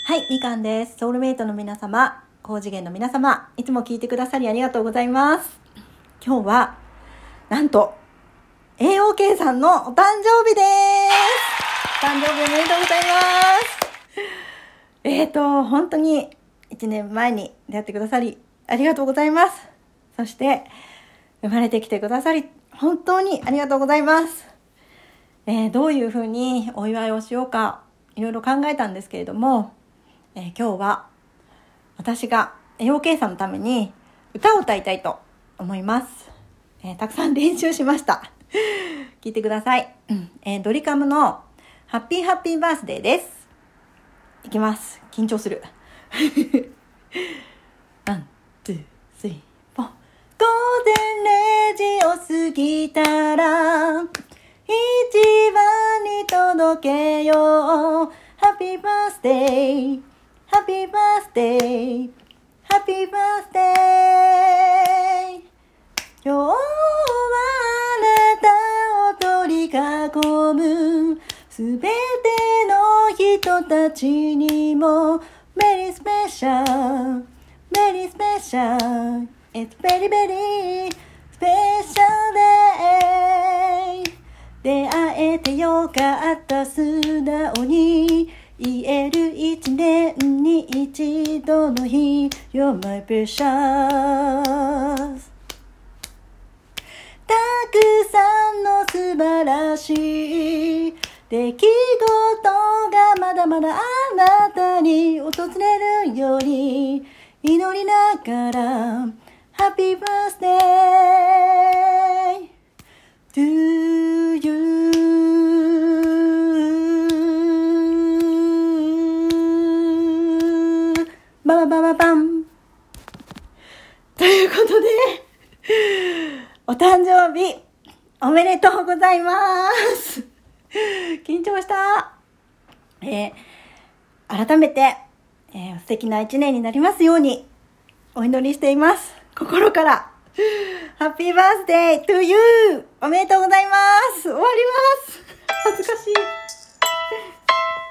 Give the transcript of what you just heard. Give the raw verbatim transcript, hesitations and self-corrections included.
はい、みかんです。ソウルメイトの皆様、高次元の皆様、いつも聞いてくださりありがとうございます。今日は、なんと、エーオーケー さんのお誕生日です。誕生日おめでとうございます。えーと、本当にいちねんまえに出会ってくださりありがとうございます。そして、生まれてきてくださり、本当にありがとうございます。えー、どういうふうにお祝いをしようか、いろいろ考えたんですけれども、えー、今日は私が エーオーケー さんのために歌を歌いたいと思います。えー、たくさん練習しました。聞いてください。えー、ドリカムのハッピーハッピーバースデーです。いきます。緊張する。ワン、ツー、スリー、フォー。午前れいじを過ぎたら一番に届けよう。ハッピーバースデー、ハッピーバースデー、ハッピーバースデー。今日はあなたを取り囲むすべての人たちにもメリースペシャル、メリースペシャル、It's very very special day。 出会えてよかった、素直に言える一年に一度の日 You're my precious。 たくさんの素晴らしい出来事がまだまだあなたに訪れるように祈りながら Happy birthday to you。 バババババンということでお誕生日おめでとうございます。緊張した。えー、改めて、えー、素敵な一年になりますようにお祈りしています。心からハッピーバースデー to you。 おめでとうございます。終わります。恥ずかしい。